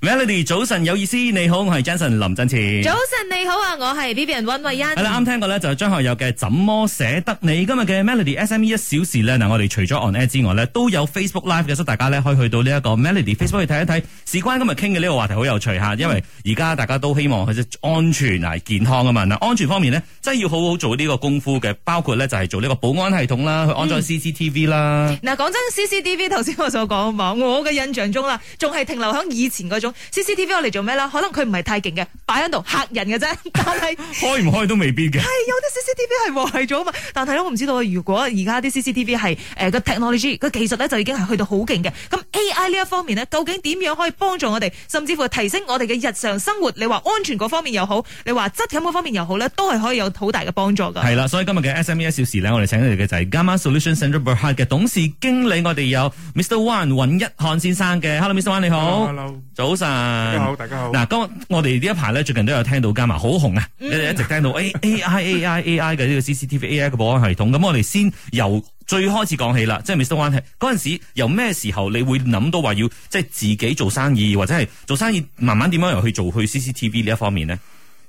Melody 早晨有意思，你好，我係 Jason 林振前。 早晨你好啊，我係 Vivian 溫慧欣。 係啦，啱聽過咧就係張學友嘅怎麼捨得你。今日嘅 Melody SME 1小時咧，嗱我哋除咗 on air 之外咧，都有 Facebook Live 嘅，所以大家咧可以去到呢一個 Melody Facebook 去睇一睇。事關今日傾嘅呢個話題好有趣吓，因為而家大家都希望佢安全啊健康啊嘛。嗱，安全方面咧，真係要好好做呢個功夫嘅，包括咧就係做呢個保安系統啦，去安裝 CCTV 啦。 嗱，講真 CCTV 頭先我所講嘛，我嘅印象中啦，仲係停留喺以前嗰種 CCTV 我嚟做咩啦？可能佢唔係太勁嘅，擺喺度嚇人嘅啫。但係開唔開都未必嘅。係有啲 CCTV 係壞咗啊嘛。但係咧，我唔知道如果而家啲 CCTV 係個 technology 個技術咧就已經係去到好勁嘅。咁 AI 呢一方面呢，究竟點樣可以幫助我哋，甚至乎提升我哋嘅日常生活？你話安全嗰方面又好，你話質感嗰方面又好咧，都係可以有好大嘅幫助㗎。 係啦，所以今日嘅 SME 1小時咧，我哋請嚟嘅就係 Gamma Solution Central Berhad 嘅董事經理，我哋有 Mr. Wan 尹一漢先生嘅。Hello，Mr. Wan 你好。 Hello， 早晨。 大家好，大家好。 嗱，咁我哋呢一排咧，最近都有聽到Gamma好紅啊，你哋一直聽到 AI 嘅呢個 CCTV AI 嘅保安系統。咁我哋先由最開始講起啦，即係 Mr. Wan 嗰陣時，由咩時候你會諗到話要即係自己做生意，或者係做生意慢慢點樣又去做去 CCTV 呢一方面呢？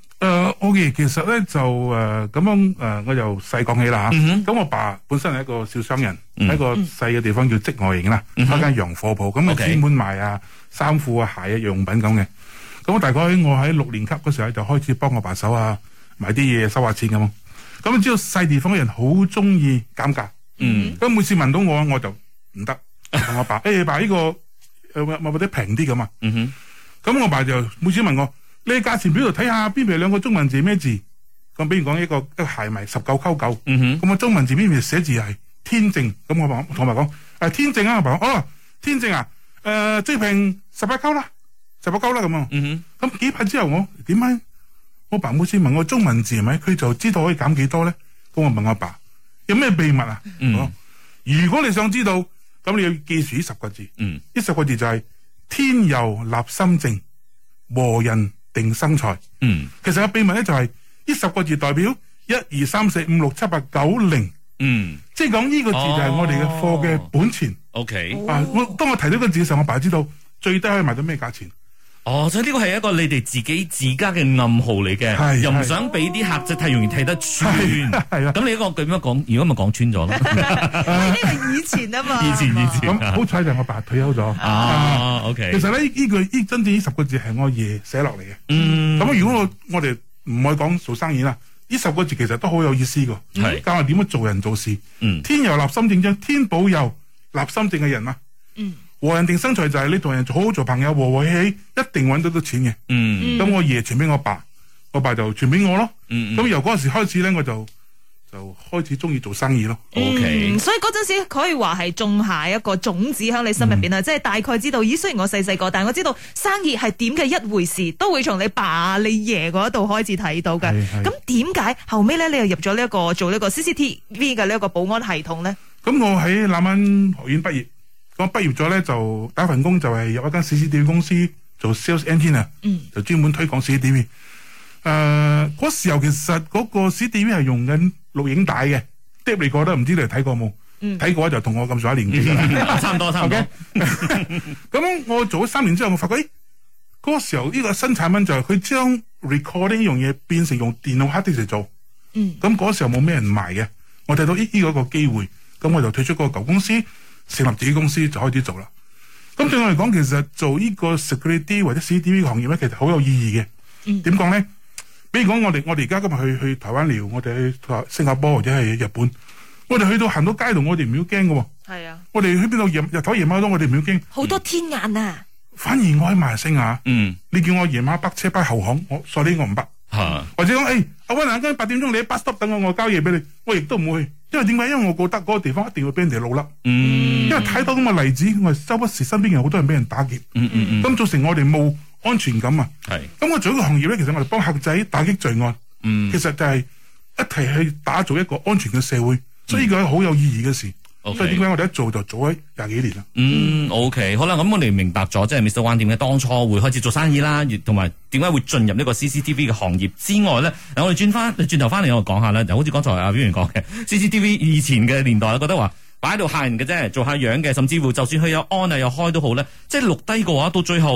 OK，其實咧就咁樣我由細講起啦嚇。咁我爸本身係一個小商人，喺個細嘅地方叫積外營啦，開間洋貨鋪，咁啊專門賣啊衫褲啊鞋啊用品咁嘅。咁大概我喺6年級嗰時候就開始幫我爸手啊買啲嘢收下錢咁。咁知道細地方嘅人好中意減價，咁每次問到我就唔得，同我爸爸呢個咪或者平啲咁啊。咁我爸就每次問我。你喺價錢表度睇下邊邊兩個中文字咩字？咁比如講一個鞋賣19.99，咁我中文字邊邊寫字係天正，咁我同我爸講天正啊，我爸講天正啊，即平18.9啦，18.9啦咁啊。咁幾排之後我點解我爸每次問我中文字係咪，佢就知道可以減幾多咧？咁我問我爸有咩秘密啊？如果你想知道，咁你要記住呢10個字，呢10個字就係天佑立心正，和人定生財。其實個秘密咧就係呢10個字代表1、2、3、4、5、6、7、8、9、0。即係講呢個字就係我哋嘅貨嘅本錢。 OK， 當我提到個字嘅時候，我爸知道最低可以賣到咩價錢。 所以呢個係一個你哋自家嘅暗號嚟嘅，又唔想俾啲客仔太容易睇得穿。咁你一個咁樣講，如果咪講穿咗咯？ 呢個以前啊嘛。以前。 咁好彩就我爸退休咗。 OK。 其實咧呢真正呢10個字係我爺寫落嚟嘅。咁如果我哋唔可以講做生意啦，呢10個字其實都好有意思㗎。教我點樣做人做事。天佑立心正，將天保佑立心正嘅人啊。和人定生財就係你同人好好做朋友，和和氣氣，一定揾到錢嘅。咁我爺傳俾我爸，我爸就傳俾我咯。咁由嗰陣時開始咧，我就開始中意做生意咯。 OK，所以嗰陣時可以話係種下一個種子喺你心入邊啊，即係大概知道，雖然我細個，但係我知道生意係點嘅一回事，都會從你爸你爺嗰度開始睇到嘅。咁點解後尾咧你又入咗呢一個做呢個 CCTV 嘅呢一個保安系統咧？咁我喺南灣學院畢業。咁畢業咗咧，就打份工，就係入一間 CCTV 公司做 sales engineer，就專門推廣 CCTV。嗰時候其實嗰個 CCTV 係用緊錄影帶嘅，碟嚟過都唔知你哋睇過冇？睇過就同我咁上下年紀啦，差唔多。咁我做咗3年之後，我發覺嗰個時候呢個新產品就係佢將 recording 呢樣嘢變成用電腦 hard disk 嚟做。咁嗰時候冇咩人賣嘅，我睇到呢個一個機會，咁我就退出嗰個舊公司。成立自己公司就開始做啦。咁對我嚟講，其實做呢個 security 或者 CCTV 嘅行業咧，其實好有意義嘅。點講咧？比如講我哋而家今日去台灣聊，我哋去新加坡或者係日本，我哋去到行到街度，我哋唔要驚嘅。係啊，我哋去邊度日頭夜晚都我哋唔要驚。 好多天眼啊！ 反而我喺馬來西亞，你叫我夜晚北車北後巷，我唔北。或者講阿溫今日8點鐘你喺 bus stop 等我交嘢俾你，我亦都唔會去。因為點解？因為我覺得嗰個地方一定會俾人哋老笠。因為睇到咁嘅例子，我周不時身邊有好多人俾人打劫。咁造成我哋冇安全感啊。咁我做一個行業咧，其實我哋幫客仔打擊罪案。其實就係一齊去打造一個安全嘅社會，所以呢個係好有意義嘅事。所以點解我哋一做就做咗20幾年啦。 OK， 好啦，咁我哋明白咗，即係 Mr. Wan 點解當初會開始做生意啦，同埋點解會進入呢個 CCTV 嘅行業之外咧，嗱我哋轉頭翻嚟我講下啦，就好似剛才阿表員講嘅 CCTV 以前嘅年代，覺得話擺喺度嚇人嘅啫，做下樣嘅，甚至乎就算佢有 on 啊有開都好咧，即係錄低嘅話，到最後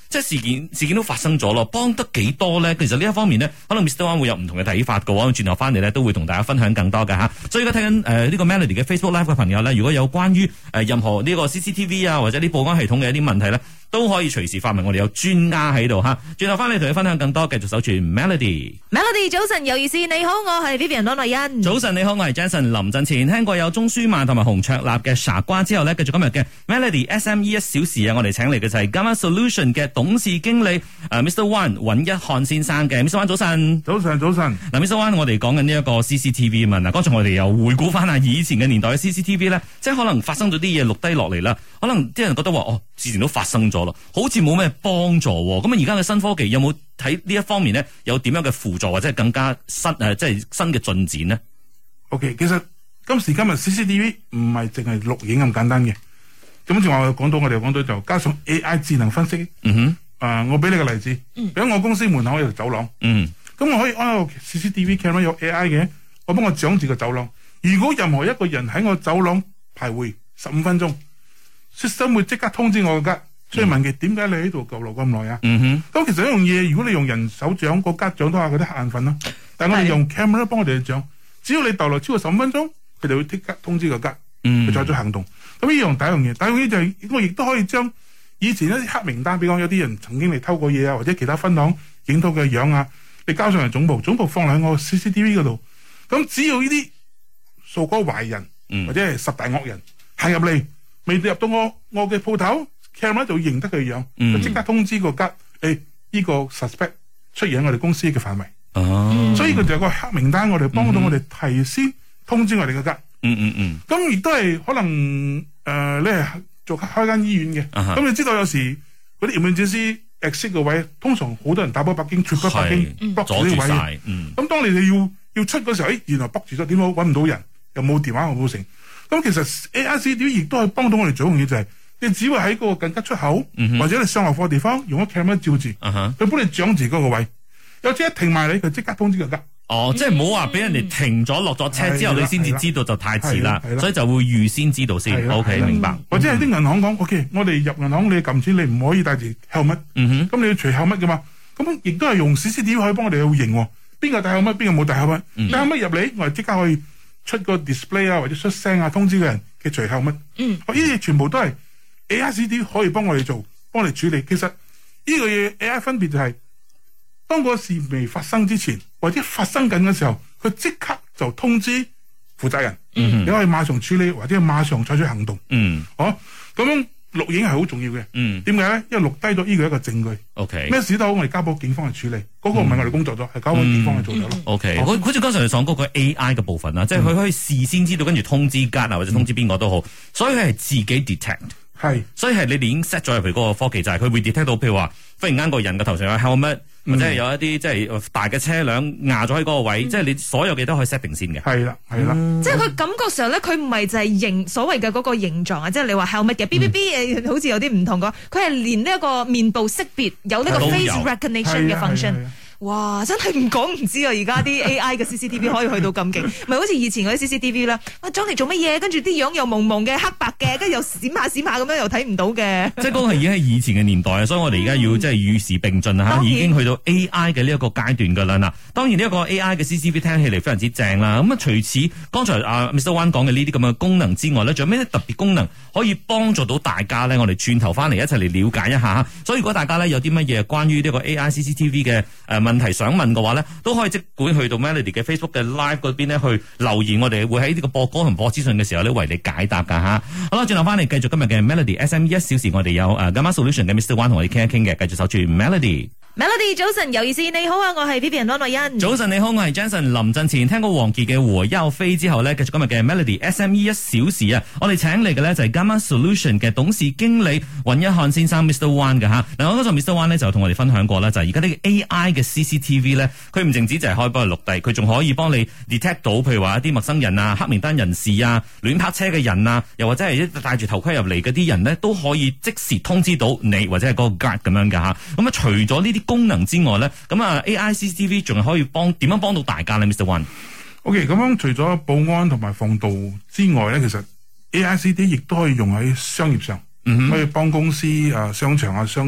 即係事件都發生咗咯，幫得幾多咧？其實呢一方面呢，可能 Mr. One 會有唔同嘅睇法嘅喎。轉頭翻嚟咧，都會同大家分享更多嘅嚇。所以而家睇緊呢個 Melody 嘅 Facebook Live 嘅朋友咧，如果有關於任何呢個 CCTV 啊或者啲保安系統嘅一啲問題咧，都可以隨時發問，我哋有專家喺度嚇。轉頭翻嚟同你分享更多，繼續守住 Melody。 Melody 早晨有意思，你好，我係 Vivian 羅麗欣。 早晨你好，我係 Jason 林振前。聽過有鐘舒曼同埋洪卓立嘅傻瓜之後呢，繼續今日嘅 Melody SME 一小時啊，我哋請嚟嘅就係 Gamma Solution 嘅董事經理Mr. One 尹一漢先生嘅。Mr. One 早晨。 早晨。 嗱 Mr. One 我哋講緊呢一個 CCTV 嘛，嗱剛才我哋又回顧翻下以前嘅年代嘅 CCTV 咧，即係可能發生咗啲嘢錄低落嚟啦，可能啲人覺得話之前都發生咗咯，好似冇咩幫助。咁啊而家嘅新科技有冇睇呢一方面呢？有點樣嘅輔助或者係更加即係新嘅進展呢？ OK， 其實今時今日 CCTV 唔係淨係錄影咁簡單嘅。咁正話我哋講到就加上 AI 智能分析。我俾你個例子，喺我公司門口有條走廊。咁我可以安個 CCTV camera 有 AI 嘅，我幫我掌住個走廊。如果任何一個人喺我走廊徘徊15分鐘，system 會即刻通知我個吉，所以問佢點解你喺度逗留咁耐啊？咁其實一樣嘢，如果你用人手掌，個吉掌都係嗰啲黑眼瞓啦。但係我哋用 camera 幫我哋掌，只要你逗留超過15分鐘，佢就會即刻通知個吉，去採取行動。咁呢樣第一樣嘢，第二樣嘢就係我亦都可以將以前一啲黑名單，比如有啲人曾經嚟偷過嘢啊，或者其他分行影到嘅樣啊，你交上嚟總部放喺我 CCTV 嗰度。咁只要呢啲數個壞人或者係十大惡人行入嚟，未入到我嘅鋪頭 camera 就會認得佢樣，就即刻通知個吉，呢個 suspect 出現喺我哋公司嘅範圍。所以佢就有個黑名單，我哋幫到我哋提先通知我哋嘅吉。咁亦都係可能你係做開間醫院嘅，咁你知道有時嗰啲 emergency exit 嘅位，通常好多人打波北京，出北京 block 住呢啲位。咁當你哋要出嗰時候，原來 block 住咗，點解揾唔到人，又冇電話又冇成。咁其實 AICD 亦都係幫到我哋做一樣嘢，就係你只會喺嗰個緊急出口，或者你上落貨地方用個 camera 照住，佢幫你掌住嗰個位，有隻一停埋你，佢即刻通知個吉。 即係唔好話俾人哋停咗落咗車之後，你先至知道就太遲啦，所以就會預先知道先。OK， 明白。 或者係啲銀行講，OK， 我哋入銀行你撳錢，你唔可以帶住 helmet，咁你要除 helmet噶嘛。咁亦都係用 CCTV 可以幫我哋去認，邊個帶 helmet，邊個冇帶 helmet。帶 helmet 入嚟，我哋即刻可以出個 display 啊，或者出聲啊，通知個人嘅除 helmet。呢啲全部都係 AICD 可以幫我哋做，幫我哋處理。其實呢個嘢 AI 分別就係，當個事未發生之前，或者發生緊嘅時候，佢即刻就通知負責人，你可以馬上處理，或者馬上採取行動。咁樣錄影係好重要嘅。點解咧？因為錄低咗呢個一個證據。咩事都好，我哋交俾警方去處理。嗰個唔係我哋工作咗，係交俾警方去做咗咯。 好似剛才你講嗰個 AI 嘅部分啦，即係佢可以事先知道，跟住通知吉啊，或者通知邊個都好，所以佢係自己 detect。所以係你哋已經 set 咗入去嗰個科技，就係佢會 detect 到，譬如話忽然間個人嘅頭上有 helmet，或者係有一啲即係大嘅車輛壓咗喺嗰個位，即係你所有嘅都可以 set 定先嘅。 係啦。 即係佢感覺上咧，佢唔係就係所謂嘅嗰個形狀啊，即係你話 helmet 嘅 BBB 好似有啲唔同嘅，佢係連呢一個面部識別有呢個 face recognition 嘅 function。哇！真係唔講唔知啊！而家啲 AI 嘅 CCTV 可以去到咁勁，咪好似以前嗰啲 CCTV 啦，裝嚟做乜嘢？跟住啲樣又朦朦嘅黑白嘅，跟住又閃下咁樣又睇唔到嘅。即係嗰個已經係以前嘅年代啊，所以我哋而家要即係與時並進啊！已經去到 AI 嘅呢一個階段噶啦嗱。當然呢一個 AI 嘅 CCTV 聽起嚟非常之正啦。咁啊，除此剛才Mr. One 講嘅呢啲咁嘅功能之外咧，仲有咩特別功能可以幫助到大家咧？我哋轉頭翻嚟一齊嚟了解一下。所以如果大家咧有啲乜嘢關於呢個 AI CCTV 嘅問題想問嘅話咧，都可以即管去到 Melody 嘅 Facebook 嘅 Live 嗰邊咧去留言，我哋會喺呢個播歌同播資訊嘅時候咧為你解答噶吓。好啦，轉頭翻嚟繼續今日嘅 Melody SME 一小時，我哋有Gamma Solution 嘅 Mr. One 同我哋傾一傾嘅，繼續守住 Melody。Melody 早晨有意思，你好啊，我係 Vivian 安慧欣。 早晨你好，我係 Jason 林振前。聽過王傑嘅《和優飛》之後呢，繼續今日嘅 Melody SME 一小時啊，我哋請嚟嘅呢就係 Gamma Solution 嘅董事經理尹一漢先生 Mr. One 嘅吓。嗱，我嗰陣 Mr. One 呢就同我哋分享過啦，就係而家呢個 AI 嘅 CCTV 呢，佢唔淨止就係可以幫你錄低，佢仲可以幫你 detect 到，譬如話一啲陌生人啊、黑名單人士啊、亂泊車嘅人啊，又或者係戴住頭盔入嚟嗰啲人呢，都可以即時通知到你或者係嗰個 guard 咁樣嘅吓。咁啊，除咗呢啲功能之外咧，咁啊 AI CCTV 仲係可以點樣幫到大家咧 ，Mr. One？OK， 咁樣除咗保安同埋防盜之外咧，其實 AI CCTV 亦都可以用喺商業上，可以幫公司商場啊、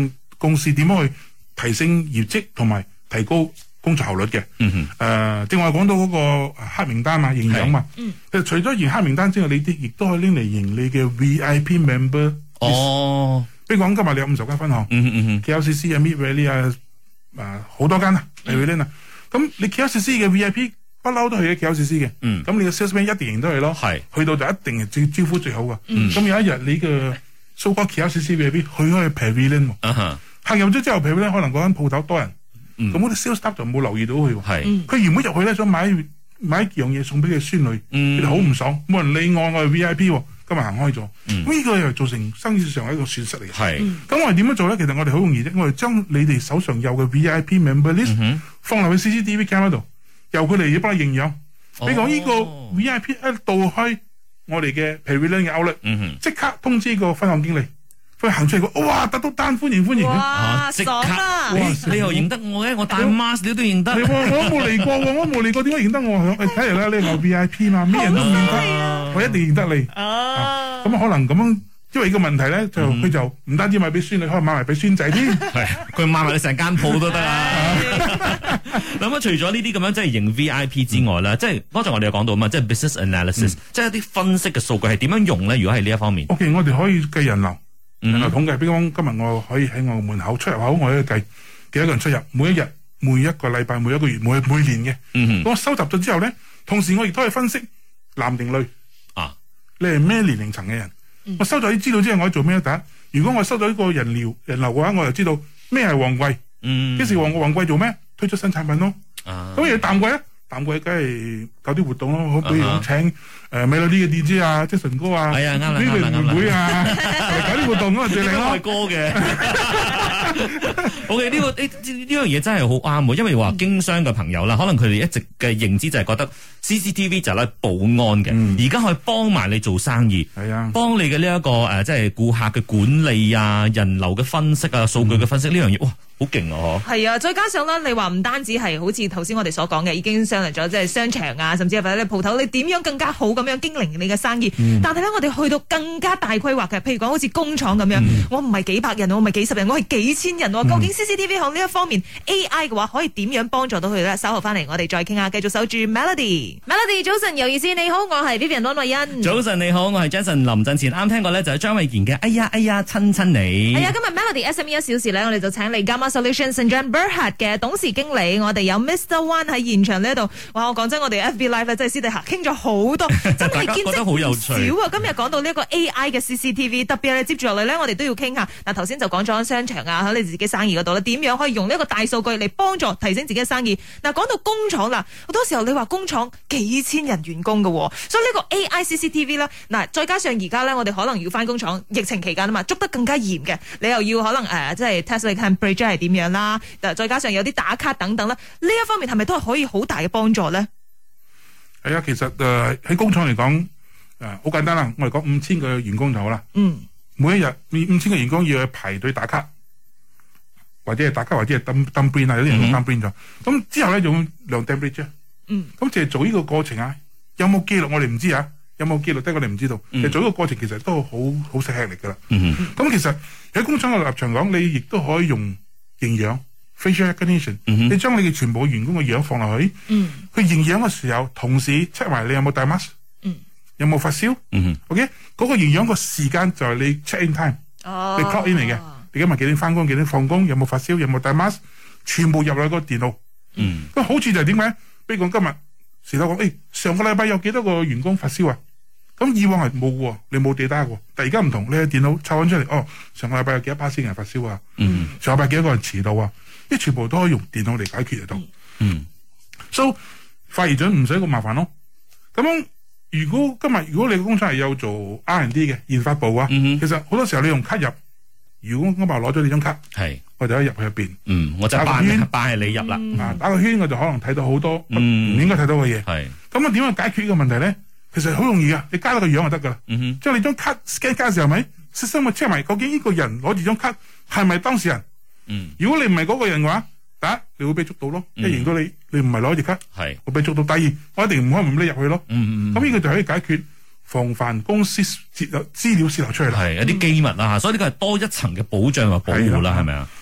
公司點樣去提升業績同埋提高工作效率嘅。正話講到嗰個黑名單嘛，營養嘛。其實除咗營黑名單之外，你亦都可以拎嚟營你嘅 VIP member。比如講今日你有50間分行，KLCC 啊、Mid Valley 啊，好多間啊，例如呢，咁你 KLCC 嘅 VIP 不嬲都係嘅 KLCC 嘅，咁你嘅 salesman 一定認得佢咯，去到就一定係招呼最好噶。咁有一日你嘅 so-called KLCC VIP 去開 Pavilion，行入咗之後 Pavilion 可能嗰間鋪頭多人，咁嗰啲 sales staff 就冇留意到佢，佢原本入去咧想買一樣嘢送俾佢孫女，佢哋好唔爽，冇人理我係 VIP。今日行開咗，呢個又造成生意上係一個損失嚟嘅。咁我哋點樣做咧？其實我哋好容易啫，我哋將你哋手上有嘅 VIP member list 放落去 CCTV cam 度，由佢哋要幫你認養。你講呢個 VIP 一到開我哋嘅 Pavilion 嘅 outlet，即刻通知個分行經理，佢行出嚟講：哇，得到單，歡迎！ 哇， 即刻！ 爽你又認得我嘅？我戴 mask 你都認得。 我都冇嚟過喎，我冇嚟過，點解認得我？睇嚟啦，你係我 VIP 嘛，咩人都認得，我一定認得你。咁可能咁樣，因為呢個問題咧，佢就唔單止買俾孫女，可能買埋俾孫仔添。 佢買埋你成間鋪都得啦。咁除咗呢啲咁樣即係認 VIP 之外咧，即係剛才我哋有講到嘛，即係 business analysis，即係一啲分析嘅數據係點樣用咧？如果係呢一方面 ，OK， 我哋可以計人流統計。比如講今日我可以喺我門口出入口，我可以計幾多個人出入，每一日、每一個禮拜、每一個月、每年嘅。我收集咗之後咧，同時我亦都可以分析男定女。你係咩年齡層嘅人？我收咗啲資料之後，我可以做咩？第一，如果我收咗呢個人流嘅話，我就知道咩係旺季。幾時旺季做咩？推出新產品咯。咁而淡季咧，淡季梗係搞啲活動咯，好比如請美女啲嘅 DJ 啊，即係純哥啊，呢個會啊，搞啲活動咁啊最靚咯。 歌嘅。OK， 呢樣嘢真係好啱喎，因為話經商嘅朋友啦，可能佢哋一直嘅認知就係覺得 CCTV 就係咧保安嘅，而家可以幫埋你做生意，幫你嘅呢一個即係顧客嘅管理啊、人流嘅分析啊、數據嘅分析呢樣嘢，哇，好勁啊！ 係啊，再加上咧，你話唔單止係好似頭先我哋所講嘅，已經上嚟咗即係商場啊，甚至係或者你鋪頭，你點樣更加好咁樣經營你嘅生意？但係咧，我哋去到更加大規劃嘅，譬如講好似工廠咁樣，我唔係幾百人，我唔係幾十人，我係幾千人喎。究竟 CCTV 喺呢一方面 AI 嘅話，可以點樣幫助到佢咧？稍後翻嚟，我哋再傾下，繼續守住 Melody。Melody 早晨有意思，你好，我係 Vivian 安慧欣。 早晨你好，我係 Jason 林振前。啱聽過咧就係張衛健嘅哎呀親你。 係啊，今日 Melody SME 1小時咧，我哋就請嚟 Gamma Solutions St. John Berhad 嘅董事經理，我哋有 Mr. Wan 喺現場呢度。哇，我講真，我哋 FB Live 咧真係私底下傾咗好多，真係見識唔少啊！今日講到呢一個 AI 嘅 CCTV， 特別係接住落嚟咧，我哋都要傾下。嗱，頭先就講咗商場啊，喺你自己生意嗰度咧，點樣可以用呢一個大數據嚟幫助提升自己嘅生意？嗱，講到工廠啦，好多時候你話工廠幾千人員工嘅，所以呢個 AI CCTV 啦，嗱，再加上而家咧，我哋可能要翻工廠，疫情期間啊嘛，捉得更加嚴嘅，你又要可能即係 test 你 temperature 係點樣啦，再加上有啲打卡等等啦，呢一方面係咪都係可以好大嘅幫助咧？ 係啊，其實喺工廠嚟講，好簡單啦，我哋講5000個員工就好啦。每一日5000個員工要去排隊打卡，或者係打卡，或者係dump brain 啊，有啲人用dump brain咗。咁之後咧用量 temperature。咁就係做呢個過程啊，有冇記錄我哋唔知啊，有冇記錄得我哋唔知道。其實做呢個過程其實都好吃力噶啦。咁其實喺工廠嘅立場講，你亦都可以用營養 facial recognition，你將你嘅全部員工嘅樣放落去，佢營養嘅時候，同時 check 埋你有冇戴 mask，有冇發燒。OK， 嗰個營養個時間就係你 check in time，你 clock in 嚟嘅。你今日幾點翻工，幾點放工，有冇發燒，有冇戴 mask， 全部入落個電腦。咁好處就係點解？比如講今日時頭講，上個禮拜有幾多個員工發燒啊？咁以往係冇喎，你冇 data喎。但而家唔同，你喺電腦抄翻出嚟，上個禮拜有幾多%人發燒啊？上個禮拜幾多個人遲到啊？啲全部都可以用電腦嚟解決得到。So 發現咗唔使咁麻煩咯。咁樣如果你嘅工廠係有做 R&D 嘅研發部啊，其實好多時候你用卡入，如果我攞咗你張卡，我就可以入去入邊，我就打個圈，係你入啦。打個圈我就可能睇到好多唔應該睇到嘅嘢。咁啊點樣解決呢個問題咧？其實好容易噶，你加咗個樣就得噶啦。即係你張卡 scan 加嘅時候，咪悉心去 check 埋究竟呢個人攞住張卡係咪當事人？如果你唔係嗰個人嘅話，第一你會被捉到咯。一認到你唔係攞住卡，會被捉到。第二我一定唔可以唔拎入去咯。咁呢個就可以解決防範公司資料泄漏出嚟啦。係一啲機密啊，所以呢個係多一層嘅保障或保護啦，係咪啊？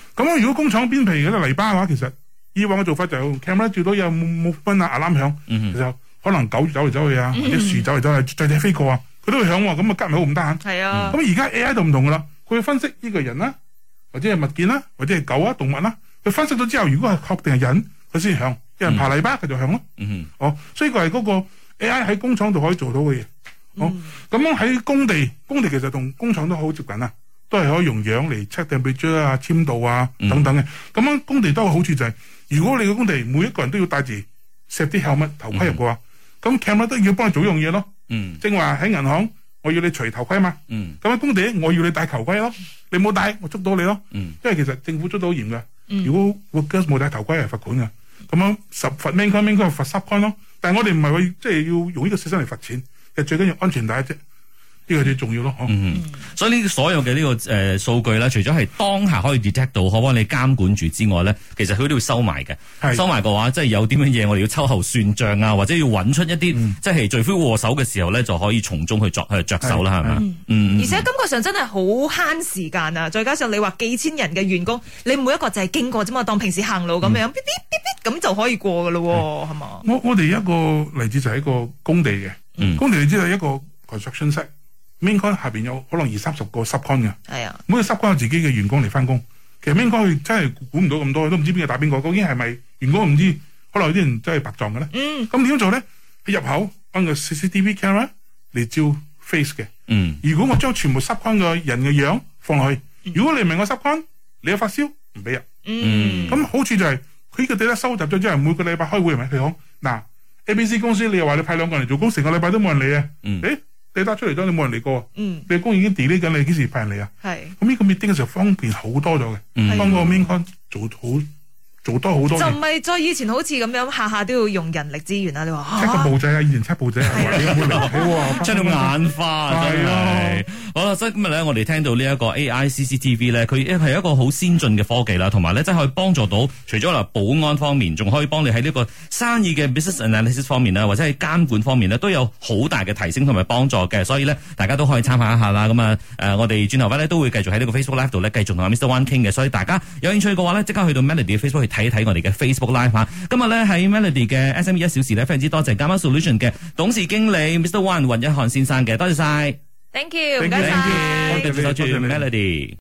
咁如果工廠邊皮嗰啲泥巴嘅話，其實以往嘅做法就用 camera 照到有冇分啊 alarm 響，其實可能狗走嚟走去啊，或者樹走嚟走去，雀仔飛過啊，佢都會響喎，咁啊隔唔好咁得閒。 係啊， 咁而家 AI 就唔同噶啦，佢會分析呢個人啦，或者係物件啦，或者係狗啊動物啦，佢分析咗之後，如果係確定係人，佢先響。有人爬泥巴，佢就響咯。所以佢係嗰個 AI 喺工廠度可以做到嘅嘢。咁樣喺工地其實同工廠都好接近啊，都係可以用樣嚟 check temperature 啊、簽度啊等等嘅。咁樣工地都有好處就係，如果你個工地每一個人都要戴住 safety helmet 頭盔入嘅話，咁 camera 都要幫你做一樣嘢咯。正話喺銀行，我要你除頭盔嘛。咁喺工地我要你戴頭盔咯，你冇戴我捉到你咯。因為其實政府捉到好嚴嘅，如果 workers 冇戴頭盔係罰款嘅。咁樣罰 main con 應該係罰10 con 咯，但係我哋唔係話即係要用呢個system嚟罰錢，其實最緊要安全帶啫，呢個最重要咯。 所以呢所有嘅呢個數據咧，除咗係當下可以 detect 到，可幫你監管住之外咧，其實佢都要收埋嘅。收埋嘅話，即係有啲乜嘢我哋要秋後算賬啊，或者要揾出一啲即係罪魁禍首嘅時候咧，就可以從中去着手啦，係咪？ 而且感覺上真係好慳時間啊！再加上你話幾千人嘅員工，你每一個就係經過啫嘛，當平時行路咁樣，咁就可以過噶咯，係嘛？ 我哋一個例子就係一個工地嘅，工地你知道一個 construction site。main con 下邊有可能20-30個 sub con 嘅，係啊，每個 sub con 有自己嘅員工嚟翻工。其實 main con 佢真係估唔到咁多，都唔知邊個打邊個，究竟係咪員工唔知，可能有啲人真係白撞嘅咧。咁點樣做咧？喺入口安個 CCTV camera 嚟照 face 嘅。如果我將全部 sub con 嘅人嘅樣放落去，如果你唔係我 sub con，你有發燒唔俾入。咁好處就係佢呢個 data收集咗之後，每個禮拜開會係咪？佢講嗱 ABC 公司，你又話你派2個人嚟做工，成個禮拜都冇人嚟啊。你打出嚟咗，你冇人嚟過，你工已經 delay 緊，你幾時派人嚟啊？係咁呢個 meeting 嘅時候方便好多咗嘅，幫個 main con 做多好多。就唔係再以前好似咁樣下下都要用人力資源啊！你話測個報仔啊，以前測報仔啊，你有冇嚟？ 出到眼花真係。好啦，所以今日咧，我哋聽到呢一個 AI CCTV 咧，佢係一個好先進嘅科技啦，同埋咧，即係可以幫助到除咗嗱保安方面，仲可以幫你喺呢個生意嘅 business analysis 方面啦，或者係監管方面咧，都有好大嘅提升同埋幫助嘅。所以咧，大家都可以參考一下啦。咁啊，我哋轉頭翻咧都會繼續喺呢個 Facebook Live 度咧，繼續同阿 Mr. One 傾嘅。所以大家有興趣嘅話咧，即刻去到 Melody 嘅 Facebook 去睇一睇我哋嘅 Facebook Live 嚇。今日咧喺 Melody 嘅 SME 1小時咧，非常之多謝 Gamma Solution 嘅董事經理 Mr. One 雲一漢先生嘅，多謝晒。 Thank you， 唔該晒，我哋守住 Melody。